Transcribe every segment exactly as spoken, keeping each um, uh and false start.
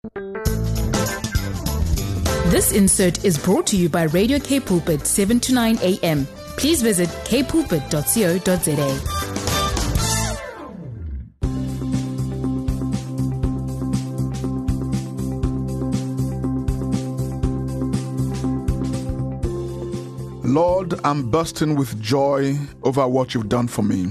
This insert is brought to you by Radio K Pulpit, seven to nine a.m. Please visit k pulpit dot co dot za. Lord, I'm bursting with joy over what you've done for me.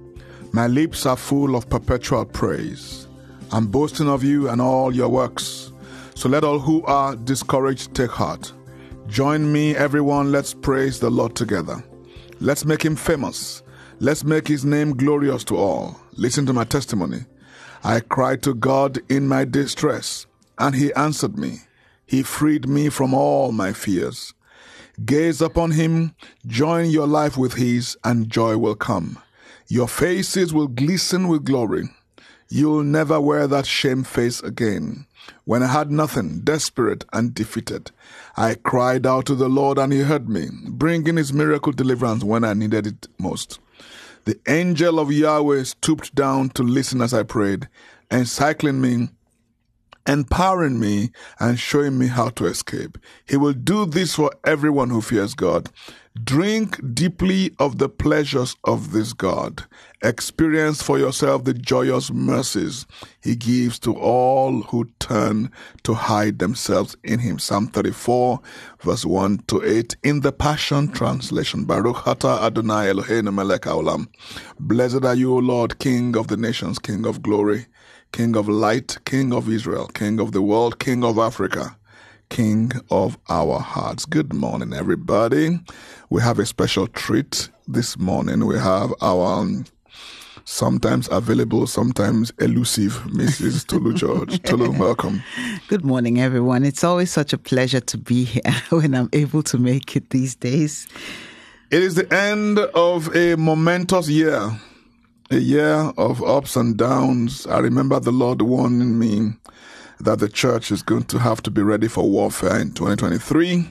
My lips are full of perpetual praise. I'm boasting of you and all your works. So let all who are discouraged take heart. Join me, everyone. Let's praise the Lord together. Let's make him famous. Let's make his name glorious to all. Listen to my testimony. I cried to God in my distress, and he answered me. He freed me from all my fears. Gaze upon him, join your life with his, and joy will come. Your faces will glisten with glory. You'll never wear that shame face again. When I had nothing, desperate and defeated, I cried out to the Lord and he heard me, bringing his miracle deliverance when I needed it most. The angel of Yahweh stooped down to listen as I prayed, encircling me, empowering me, and showing me how to escape. He will do this for everyone who fears God. Drink deeply of the pleasures of this God. Experience for yourself the joyous mercies he gives to all who turn to hide themselves in him. Psalm thirty-four, verse one to eight, in the Passion Translation. Baruch atah Adonai Eloheinu melech haolam. Blessed are you, O Lord, King of the nations, King of glory, King of light, King of Israel, King of the world, King of Africa, King of our hearts. Good morning, everybody. We have a special treat this morning. We have our um, sometimes available, sometimes elusive Missus Tolu George. Tolu, welcome. Good morning, everyone. It's always such a pleasure to be here when I'm able to make it these days. It is the end of a momentous year, a year of ups and downs. I remember the Lord warning me that the church is going to have to be ready for warfare in twenty twenty-three.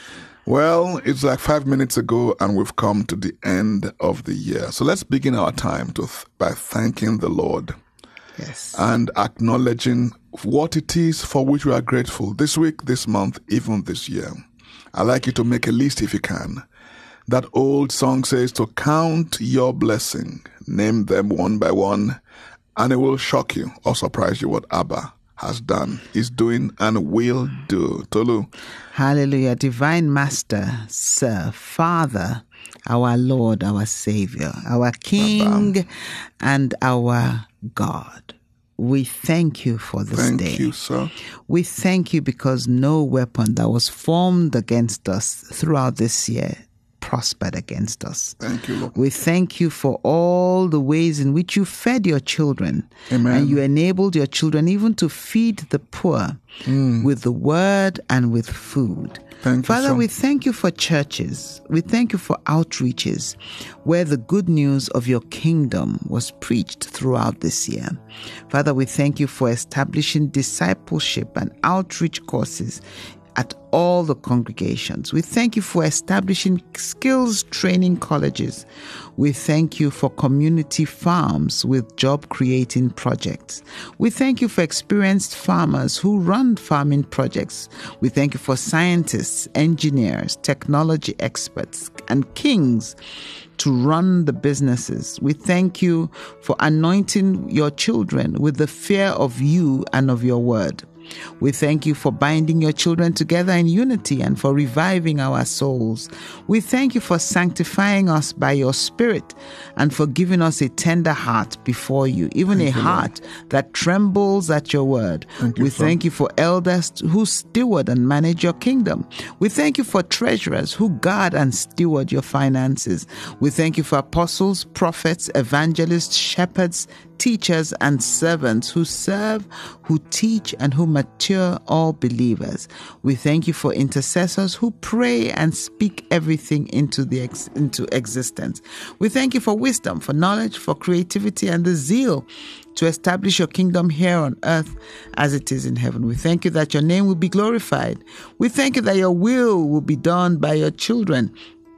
Well, it's like five minutes ago and we've come to the end of the year. So let's begin our time to th- by thanking the Lord. Yes. And acknowledging what it is for which we are grateful this week, this month, even this year. I'd like you to make a list if you can. That old song says to count your blessing, name them one by one, and it will shock you or surprise you what Abba has done, is doing, and will do. Tolu. Hallelujah. Divine Master, Sir, Father, our Lord, our Savior, our King, Baba, and our God. We thank you for this thank day. Thank you, sir. We thank you because no weapon that was formed against us throughout this year prospered against us. Thank you, Lord. We thank you for all the ways in which you fed your children. Amen. And you enabled your children even to feed the poor mm. with the word and with food. Thank Father, you, we thank you for churches. We thank you for outreaches where the good news of your kingdom was preached throughout this year. Father, we thank you for establishing discipleship and outreach courses at all the congregations. We thank you for establishing skills training colleges. We thank you for community farms with job creating projects. We thank you for experienced farmers who run farming projects. We thank you for scientists, engineers, technology experts, and kings to run the businesses. We thank you for anointing your children with the fear of you and of your word. We thank you for binding your children together in unity and for reviving our souls. We thank you for sanctifying us by your Spirit and for giving us a tender heart before you, even thank a you, heart Lord. That trembles at your word. Thank you, we sir. Thank you for elders who steward and manage your kingdom. We thank you for treasurers who guard and steward your finances. We thank you for apostles, prophets, evangelists, shepherds, teachers and servants who serve, who teach, and who mature all believers. We thank you for intercessors who pray and speak everything into the ex- into existence. We thank you for wisdom, for knowledge, for creativity, and the zeal to establish your kingdom here on earth as it is in heaven. We thank you that your name will be glorified. We thank you that your will will be done by your children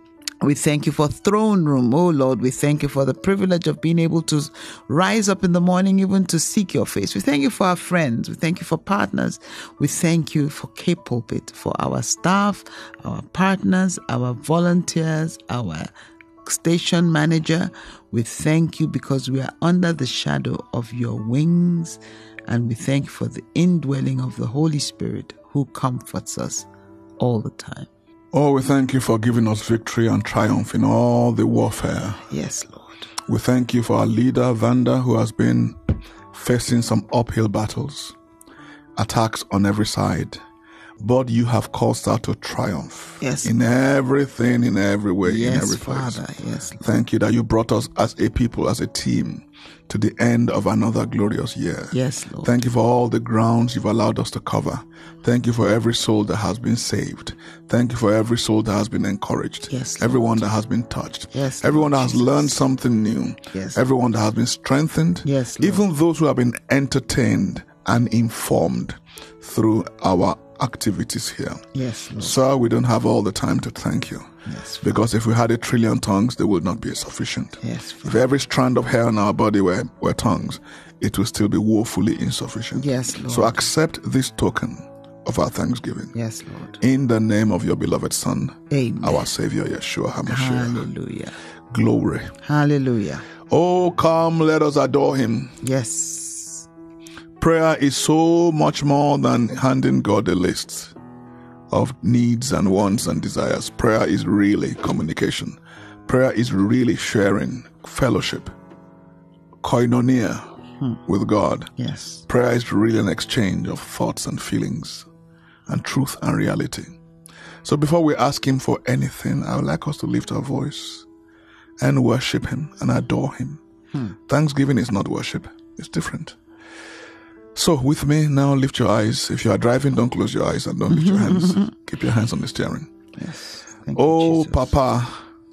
We thank you for throne room. Oh Lord, we thank you for the privilege of being able to rise up in the morning even to seek your face. We thank you for our friends. We thank you for partners. We thank you for Cape Pulpit, for our staff, our partners, our volunteers, our station manager. We thank you because we are under the shadow of your wings, and we thank you for the indwelling of the Holy Spirit who comforts us all the time. Oh, we thank you for giving us victory and triumph in all the warfare. Yes, Lord. We thank you for our leader, Vanda, who has been facing some uphill battles, attacks on every side. But you have caused her to triumph. Yes. In everything, in every way, yes, in every place. Father. Yes, Lord. Thank you that you brought us as a people, as a team, to the end of another glorious year. Yes, Lord. Thank you for all the grounds you've allowed us to cover. Thank you for every soul that has been saved. Thank you for every soul that has been encouraged. Yes, Lord. Everyone that has been touched. Yes, everyone Lord that has Jesus. learned something new. Yes. Everyone that has been strengthened. Yes, Lord. Even those who have been entertained and informed through our activities here. Yes, Lord. Sir, we don't have all the time to thank you. Yes, Father. Because if we had a trillion tongues, they would not be sufficient. Yes, If Father. every strand of hair on our body were, were tongues, it would still be woefully insufficient. Yes, Lord. So accept this token of our thanksgiving. Yes, Lord. In the name of your beloved Son, Amen. our Savior, Yeshua HaMashiach. Hallelujah. Glory. Hallelujah. Oh, come, let us adore him. Yes. Prayer is so much more than handing God a list of needs and wants and desires. Prayer is really communication. Prayer is really sharing, fellowship, koinonia hmm. with God. Yes. Prayer is really an exchange of thoughts and feelings and truth and reality. So before we ask him for anything, I would like us to lift our voice and worship him and adore him. Hmm. Thanksgiving is not worship. It's different. So with me now, lift your eyes. If you are driving, don't close your eyes and don't lift your hands. Keep your hands on the steering. Yes. Thank oh, you, Jesus. Papa,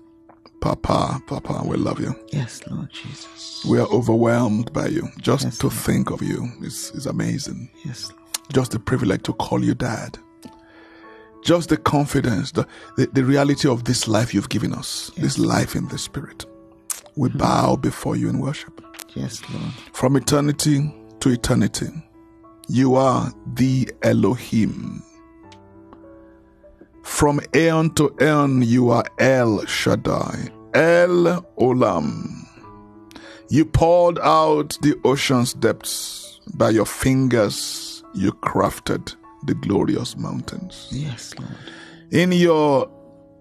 Papa, Papa, we love you. Yes, Lord Jesus. We are overwhelmed by you. Just yes, to Lord. think of you is, is amazing. Yes, Lord. Just the privilege to call you Dad. Just the confidence, the, the, the reality of this life you've given us, yes. this life in the Spirit. We mm-hmm. bow before you in worship. Yes, Lord. From eternity to eternity, you are the Elohim. From aeon to aeon, you are El Shaddai, El Olam. You poured out the ocean's depths. By your fingers, you crafted the glorious mountains. Yes, Lord. In your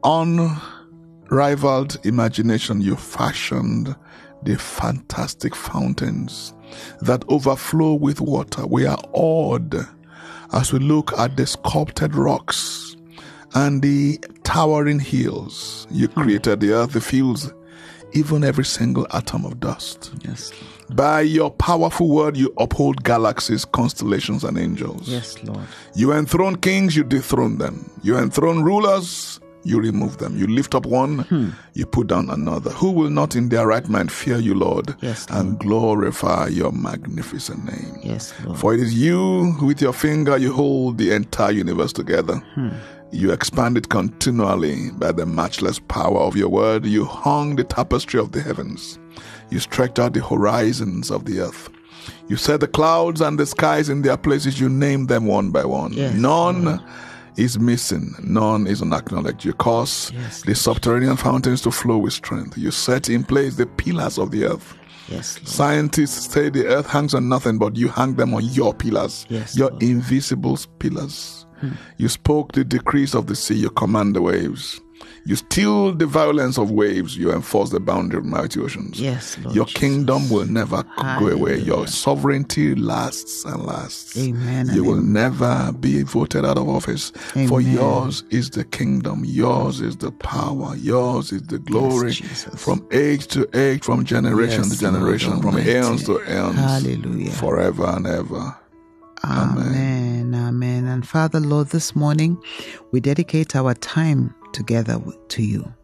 unrivaled imagination, you fashioned the fantastic fountains that overflow with water. We are awed as we look at the sculpted rocks and the towering hills. You created the earth, the fields, even every single atom of dust. Yes, Lord. By your powerful word, you uphold galaxies, constellations, and angels. Yes, Lord. You enthrone kings, you dethrone them. You enthrone rulers, you remove them. You lift up one, hmm. you put down another. Who will not in their right mind fear you, Lord, yes, Lord. and glorify your magnificent name? Yes, Lord. For it is you, with your finger, you hold the entire universe together. Hmm. You expand it continually by the matchless power of your word. You hung the tapestry of the heavens. You stretched out the horizons of the earth. You set the clouds and the skies in their places. You named them one by one. Yes, None Lord. is missing. None is unacknowledged. You cause yes, the subterranean fountains to flow with strength. You set in place the pillars of the earth. Yes, Lord. Scientists say the earth hangs on nothing, but you hang them on your pillars, yes, your Lord. invisible pillars. Hmm. You spoke the decrees of the sea, you command the waves. You still the violence of waves, you enforce the boundary of mighty oceans. Yes, Lord your Jesus. Kingdom will never Hallelujah. go away. Your sovereignty lasts and lasts. Amen. You will amen. never be voted out of office. Amen. For yours is the kingdom, yours is the power, yours is the glory. Yes, from age to age, from generation yes, to generation, Lord from Almighty. aeons to aeons. Hallelujah. Forever and ever. Amen. Amen. Amen. And Father, Lord, this morning we dedicate our time together to you.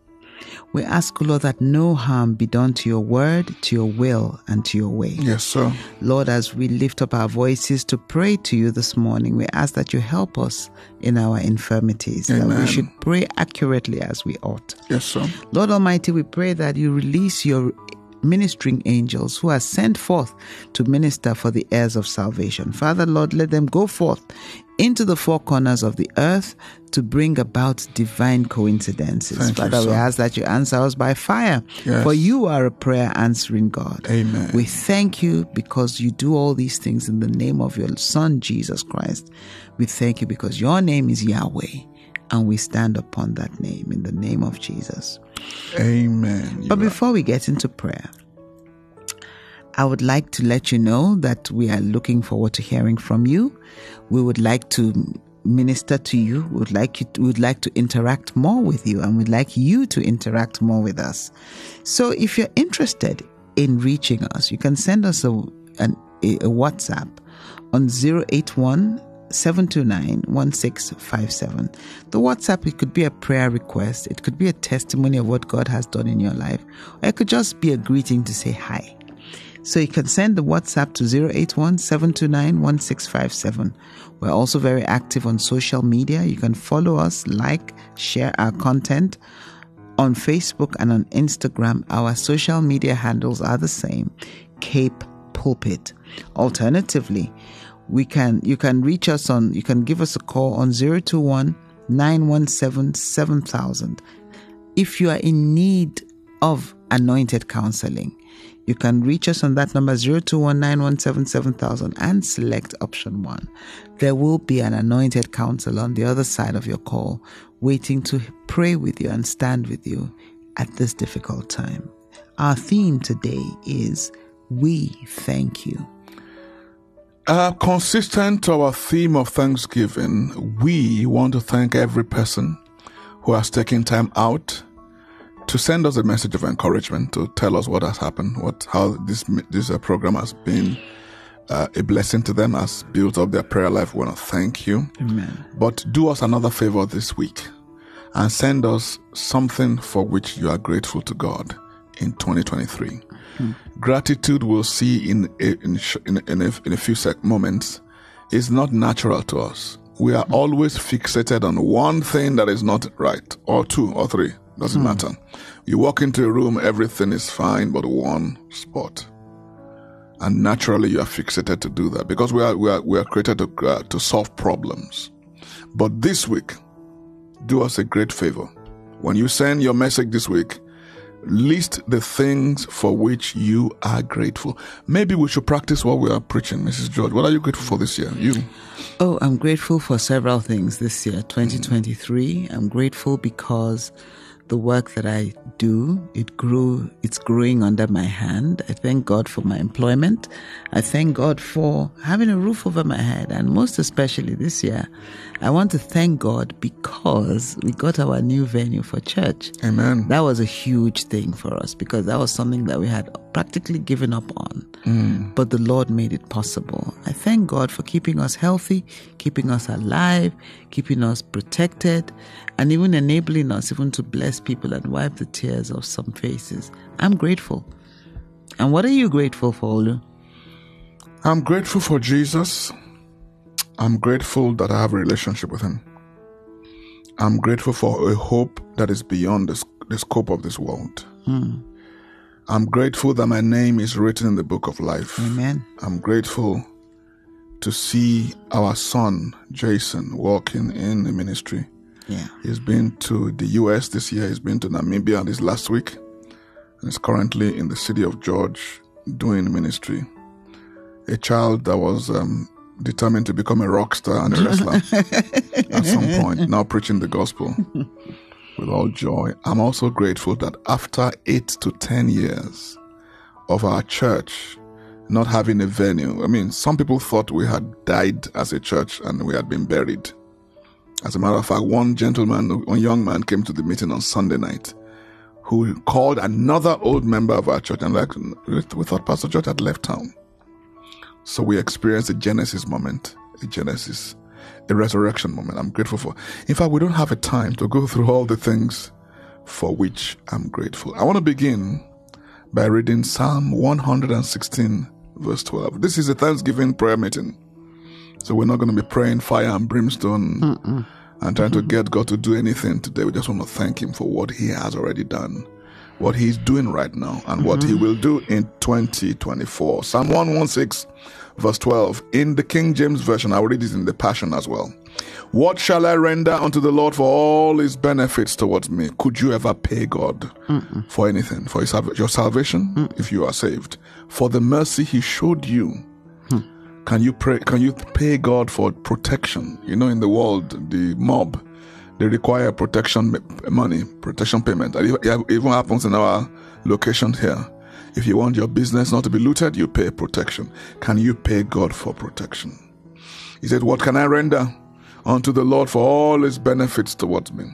We ask, O Lord, that no harm be done to your word, to your will, and to your way. Yes, sir. Lord, as we lift up our voices to pray to you this morning, we ask that you help us in our infirmities, Amen. that we should pray accurately as we ought. Yes, sir. Lord Almighty, we pray that you release your ministering angels who are sent forth to minister for the heirs of salvation. Father, Lord, let them go forth into the four corners of the earth to bring about divine coincidences. Thank Father, you, we sir. ask that you answer us by fire, Yes. for you are a prayer answering God. Amen. We thank you because you do all these things in the name of your Son, Jesus Christ. We thank you because your name is Yahweh, and we stand upon that name in the name of Jesus. Amen. You But are- before we get into prayer, I would like to let you know that we are looking forward to hearing from you. We would like to minister to you. We would like you to, we would like to interact more with you, and we'd like you to interact more with us. So if you're interested in reaching us, you can send us a, an, a, a WhatsApp on zero eight one, seven two nine, one six five seven. The WhatsApp, it could be a prayer request. It could be a testimony of what God has done in your life. Or it could just be a greeting to say hi. So you can send the WhatsApp to zero eight one, seven two nine, one six five seven. We're also very active on social media. You can follow us, like, share our content on Facebook and on Instagram. Our social media handles are the same, Cape Pulpit. Alternatively, we can you can reach us on, you can give us a call on zero two one, nine one seven, seven thousand. If you are in need of anointed counseling, you can reach us on that number zero two one, nine one seven, seven thousand and select option one. There will be an anointed counselor on the other side of your call waiting to pray with you and stand with you at this difficult time. Our theme today is We Thank You. Uh, consistent to our theme of Thanksgiving, we want to thank every person who has taken time out to send us a message of encouragement, to tell us what has happened, what how this this uh, program has been uh, a blessing to them, has built up their prayer life. We want to thank you. Amen. But do us another favor this week and send us something for which you are grateful to God in twenty twenty-three. Hmm. Gratitude, we'll see in a, in, in, in, a, in a few sec moments, is not natural to us. We are hmm. always fixated on one thing that is not right, or two or three. Doesn't hmm. matter. You walk into a room, everything is fine but one spot. And naturally you are fixated to do that because we are we are, we are created to, uh, to solve problems. But this week, do us a great favor. When you send your message this week, list the things for which you are grateful. Maybe we should practice what we are preaching, Missus George. What are you grateful for this year? You? Oh, I'm grateful for several things this year, twenty twenty-three. I'm grateful because the work that I do, it grew, it's growing under my hand. I thank God for my employment. I thank God for having a roof over my head. And most especially this year, I want to thank God because we got our new venue for church. Amen. That was a huge thing for us because that was something that we had practically given up on. Mm. But the Lord made it possible. I thank God for keeping us healthy, keeping us alive, keeping us protected, and even enabling us even to bless people and wipe the tears of some faces. I'm grateful. And what are you grateful for, Olu? I'm grateful for Jesus. I'm grateful that I have a relationship with him. I'm grateful for a hope that is beyond the, the scope of this world. Hmm. I'm grateful that my name is written in the book of life. Amen. I'm grateful to see our son, Jason, walking in the ministry. Yeah. He's been to the U S this year. He's been to Namibia this last week. And is currently in the city of George doing ministry. A child that was um, determined to become a rock star and a wrestler at some point, now preaching the gospel with all joy. I'm also grateful that after eight to ten years of our church not having a venue, I mean, some people thought we had died as a church and we had been buried. As a matter of fact, one gentleman, one young man came to the meeting on Sunday night who called another old member of our church and like, we thought Pastor George had left town. So we experienced a Genesis moment, a Genesis, a resurrection moment. I'm grateful for. In fact, we don't have a time to go through all the things for which I'm grateful. I want to begin by reading Psalm one hundred sixteen, verse twelve. This is a Thanksgiving prayer meeting. So we're not going to be praying fire and brimstone Mm-mm. and trying mm-hmm. to get God to do anything today. We just want to thank him for what he has already done, what he's doing right now, and mm-hmm. what he will do in twenty twenty-four. Psalm one sixteen, verse twelve. In the King James Version, I'll read it in the Passion as well. What shall I render unto the Lord for all his benefits towards me? Could you ever pay God Mm-mm. for anything? For his, your salvation, Mm-mm. if you are saved? For the mercy he showed you? Hmm. Can you pray? Can you pay God for protection? You know, in the world, the mob, they require protection money, protection payment. It even happens in our location here. If you want your business not to be looted, you pay protection. Can you pay God for protection? He said, what can I render unto the Lord for all his benefits towards me?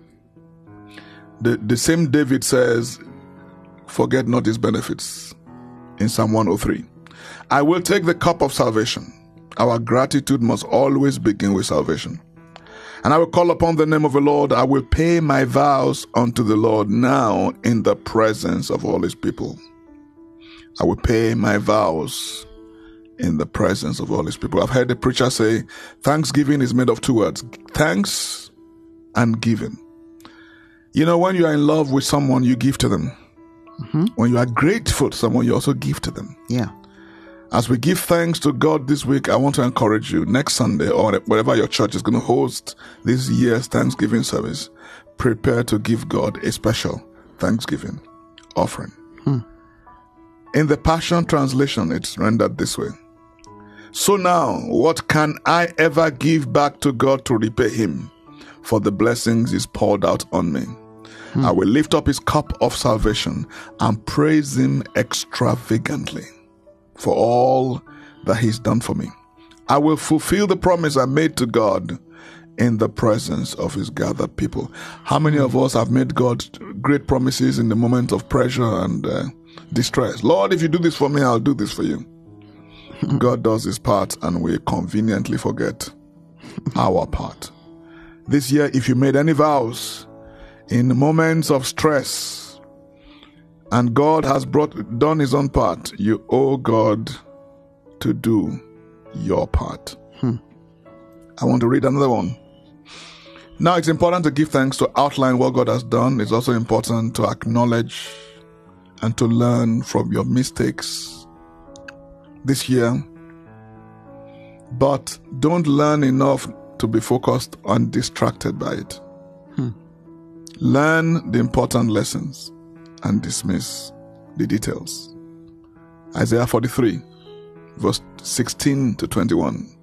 The, the same David says, forget not his benefits in Psalm one oh three. I will take the cup of salvation. Our gratitude must always begin with salvation. And I will call upon the name of the Lord. I will pay my vows unto the Lord now in the presence of all his people. I will pay my vows in the presence of all his people. I've heard the preacher say, thanksgiving is made of two words, thanks and giving. You know, when you are in love with someone, you give to them. Mm-hmm. When you are grateful to someone, you also give to them. Yeah. As we give thanks to God this week, I want to encourage you, next Sunday or wherever your church is going to host this year's Thanksgiving service, prepare to give God a special Thanksgiving offering. Hmm. In the Passion Translation, it's rendered this way. So now, what can I ever give back to God to repay him for the blessings he's poured out on me? Hmm. I will lift up his cup of salvation and praise him extravagantly for all that he's done for me. I will fulfill the promise I made to God in the presence of his gathered people. How many of us have made God great promises in the moment of pressure and uh, distress? Lord, if you do this for me, I'll do this for you. God does his part and we conveniently forget our part. This year, if you made any vows in moments of stress and God has brought done his own part, you owe God to do your part. Hmm. I want to read another one. Now, it's important to give thanks, to outline what God has done. It's also important to acknowledge and to learn from your mistakes this year, but don't learn enough to be focused and distracted by it. Hmm. Learn the important lessons and dismiss the details. Isaiah forty-three, verse sixteen to twenty-one.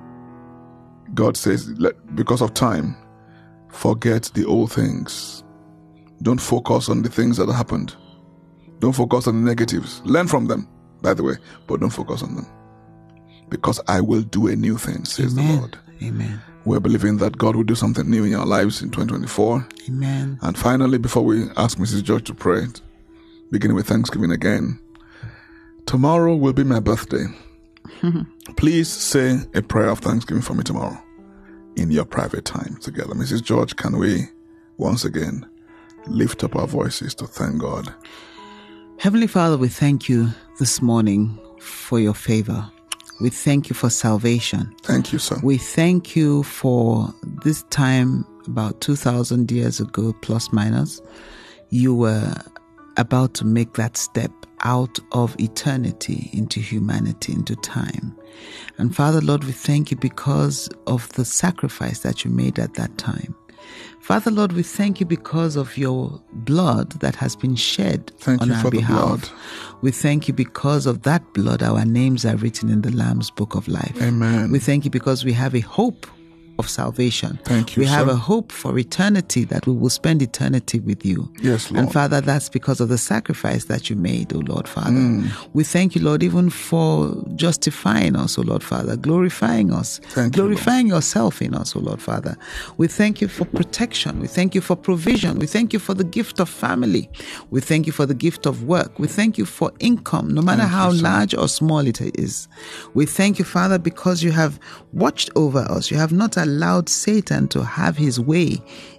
God says, because of time, forget the old things. Don't focus on the things that happened. Don't focus on the negatives. Learn from them, by the way, but don't focus on them. Because I will do a new thing, says Amen. the Lord. Amen. We're believing that God will do something new in our lives in twenty twenty-four. Amen. And finally, before we ask Missus George to pray, beginning with Thanksgiving again, tomorrow will be my birthday. Please say a prayer of thanksgiving for me tomorrow in your private time together. Missus George, can we once again lift up our voices to thank God? Heavenly Father, we thank you this morning for your favor. We thank you for salvation. Thank you, sir. We thank you for this time about two thousand years ago, plus minus. You were about to make that step out of eternity into humanity, into time. And Father, Lord, we thank you because of the sacrifice that you made at that time. Father, Lord, we thank you because of your blood that has been shed thank on you our for behalf. The blood. We thank you because of that blood, our names are written in the Lamb's Book of Life. Amen. We thank you because we have a hope of salvation. Thank you, We have sir. a hope for eternity, that we will spend eternity with you. Yes, Lord. And Father, that's because of the sacrifice that you made, O Lord Father. Mm. We thank you, Lord, even for justifying us, O Lord Father, glorifying us, Thank you, glorifying yourself in us, O Lord Father. We thank you for protection. We thank you for provision. We thank you for the gift of family. We thank you for the gift of work. We thank you for income, no matter Thank how you, sir. large or small it is. We thank you, Father, because you have watched over us. You have not allowed Satan to have his way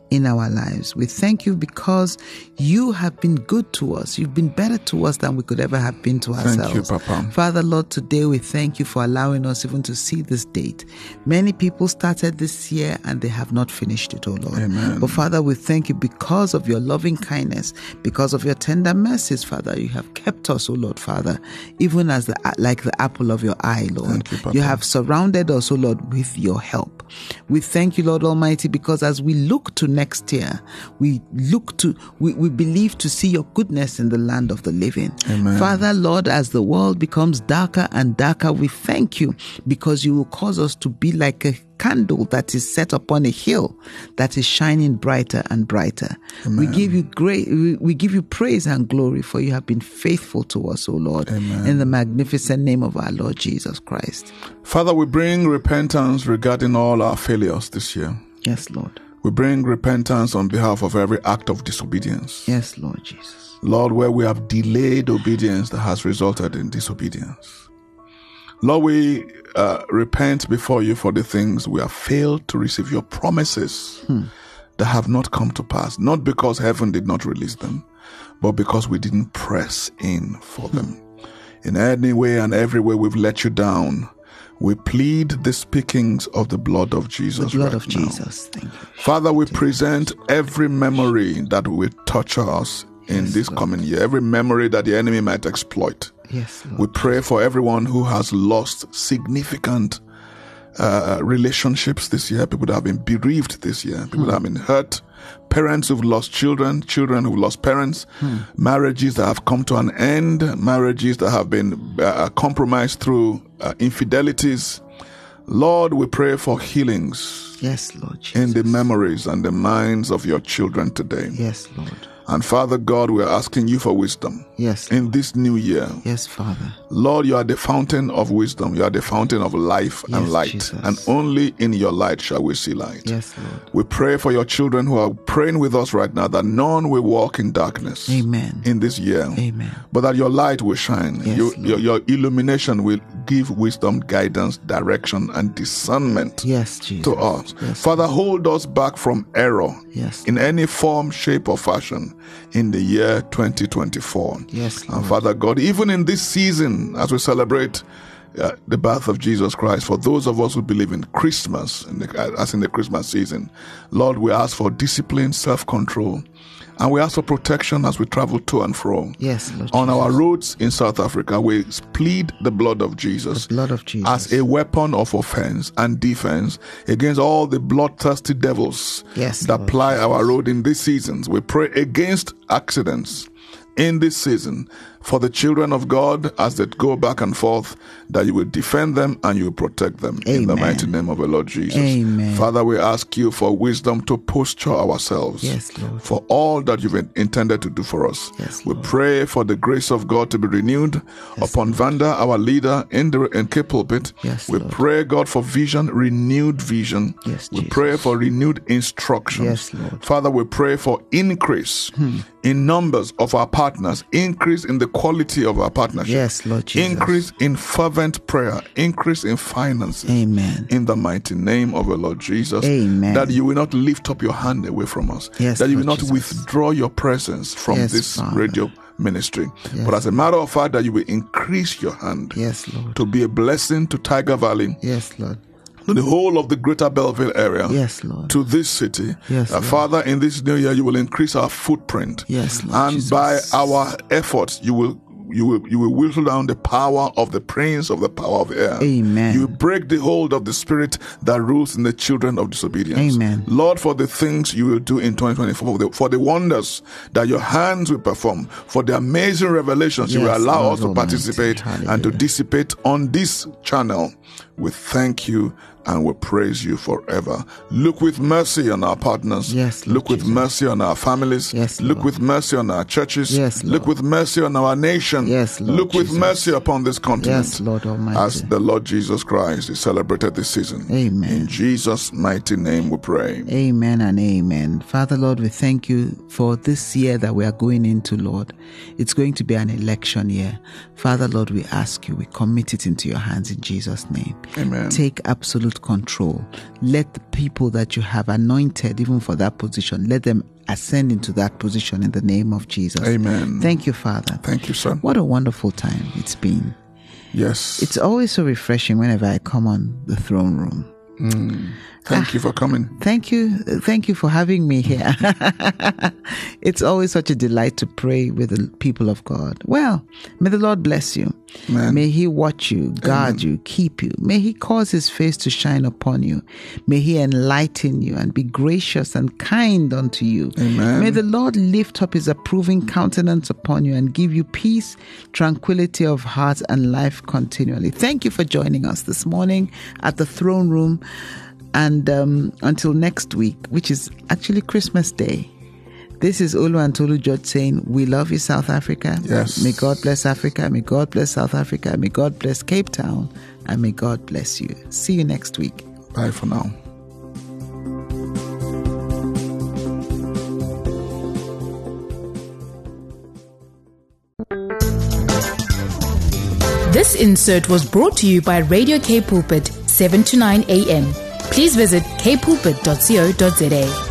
in our lives. We thank you because you have been good to us. You've been better to us than we could ever have been to ourselves. Thank you, Papa. Father, Lord, today we thank you for allowing us even to see this date. Many people started this year and they have not finished it, oh Lord. Amen. But Father, we thank you because of your loving kindness, because of your tender mercies, Father. You have kept us, oh Lord, Father, even as the like the apple of your eye, Lord. Thank you, Papa. You have surrounded us, oh Lord, with your help. We thank you, Lord Almighty, because as we look to next year, we look to, we, we believe to see your goodness in the land of the living. Amen. Father, Lord, as the world becomes darker and darker, we thank you because you will cause us to be like a candle that is set upon a hill that is shining brighter and brighter. Amen. We give you great, we, we give you praise and glory, for you have been faithful to us, O Lord. Amen. In the magnificent name of our Lord Jesus Christ. Father, we bring repentance regarding all our failures this year. Yes, Lord. We bring repentance on behalf of every act of disobedience. Yes, Lord Jesus. Lord, where we have delayed obedience that has resulted in disobedience. Lord, we uh, repent before you for the things we have failed to receive your promises hmm. that have not come to pass, not because heaven did not release them, but because we didn't press in for hmm. them. In any way and every way we've let you down, we plead the speakings of the blood of Jesus. The blood right of now. Jesus. Thank you. Father, we present every memory that will torture us in Yes, this Lord. coming year, every memory that the enemy might exploit. Yes, Lord. We pray for everyone who has lost significant uh, relationships this year, people that have been bereaved this year, people hmm. that have been hurt, parents who've lost children, children who've lost parents, hmm. marriages that have come to an end, marriages that have been uh, compromised through uh, infidelities. Lord, we pray for healings. Yes, Lord Jesus. In the memories and the minds of your children today. Yes, Lord. And Father God, we are asking you for wisdom. Yes. In this new year. Yes, Father. Lord, you are the fountain of wisdom. You are the fountain of life yes, and light. Jesus. And only in your light shall we see light. Yes, Lord. We pray for your children who are praying with us right now that none will walk in darkness. Amen. In this year. Amen. But that your light will shine. Yes, you, your, your illumination will give wisdom, guidance, direction, and discernment yes, Jesus. to us. Yes, Father, hold us back from error yes, in any form, shape, or fashion in the year twenty twenty-four. Yes, Lord. And Father God, even in this season, as we celebrate uh, the birth of Jesus Christ, for those of us who believe in Christmas, in the, as in the Christmas season, Lord, we ask for discipline, self-control, and we ask for protection as we travel to and fro. Yes, Lord On Jesus. our roads in South Africa, we plead the blood of Jesus, the blood of Jesus as a weapon of offense and defense against all the bloodthirsty devils yes, that Lord ply Jesus. our road in these seasons. We pray against accidents in this season for the children of God as they go back and forth, that you will defend them and you will protect them. Amen. In the mighty name of the Lord Jesus. Amen. Father, we ask you for wisdom to posture ourselves yes, Lord. for all that you've intended to do for us. Yes, we Lord. pray for the grace of God to be renewed yes, upon Lord. Vanda, our leader in the in Cape Pulpit. Yes, we Lord. pray, God, for vision, renewed vision. Yes, we Jesus. pray for renewed instructions. Yes, Lord. Father, we pray for increase hmm. in numbers of our partners, increase in the quality of our partnership. Yes, Lord Jesus. Increase in fervent prayer, increase in finances. Amen. In the mighty name of the Lord Jesus. Amen. That you will not lift up your hand away from us. Yes, that you will Lord not Jesus. withdraw your presence from Yes, this Father. radio ministry. Yes, but as a matter of fact, that you will increase your hand yes, Lord. to be a blessing to Tiger Valley. Yes, Lord. To the whole of the greater Belleville area. Yes, Lord. To this city. Yes, uh, Lord. Father, in this new year, you will increase our footprint. Yes, Lord And Jesus. by our efforts, you will You will you will whittle down the power of the prince of the power of the air. Amen. You will break the hold of the spirit that rules in the children of disobedience. Amen. Lord, for the things you will do in twenty twenty-four, for the, for the wonders that your hands will perform, for the amazing revelations you will Yes, allow Lord us to Almighty. participate Hallelujah. and to dissipate on this channel, we thank you and we praise you forever. Look with mercy on our partners. Yes, Lord Look with Jesus. mercy on our families. Yes, Look Lord. with mercy on our churches. Yes, Look Lord. with mercy on our nation. Yes, Lord Look with Jesus. mercy upon this continent. Yes, Lord Almighty. As the Lord Jesus Christ is celebrated this season. Amen. In Jesus' mighty name we pray. Amen and amen. Father, Lord, we thank you for this year that we are going into, Lord. It's going to be an election year. Father, Lord, we ask you, we commit it into your hands in Jesus' name. Amen. Take absolute take control. Let the people that you have anointed, even for that position, let them ascend into that position in the name of Jesus. Amen. Thank you, Father. Thank you, son. What a wonderful time it's been. Yes. It's always so refreshing whenever I come on the throne room. Mm. Thank ah, you for coming. Thank you. Thank you for having me here. It's always such a delight to pray with the people of God. Well, may the Lord bless you. Amen. May He watch you, guard Amen. you, keep you. May He cause His face to shine upon you. May He enlighten you and be gracious and kind unto you. Amen. May the Lord lift up His approving countenance upon you and give you peace, tranquility of heart, and life continually. Thank you for joining us this morning at the throne room. And um, until next week, which is actually Christmas Day, this is Olu and Tolu George saying, we love you, South Africa. Yes. May God bless Africa. May God bless South Africa. May God bless Cape Town. And may God bless you. See you next week. Bye for now. This insert was brought to you by Radio K Pulpit, seven to nine a.m. Please visit k pulpit dot co dot za.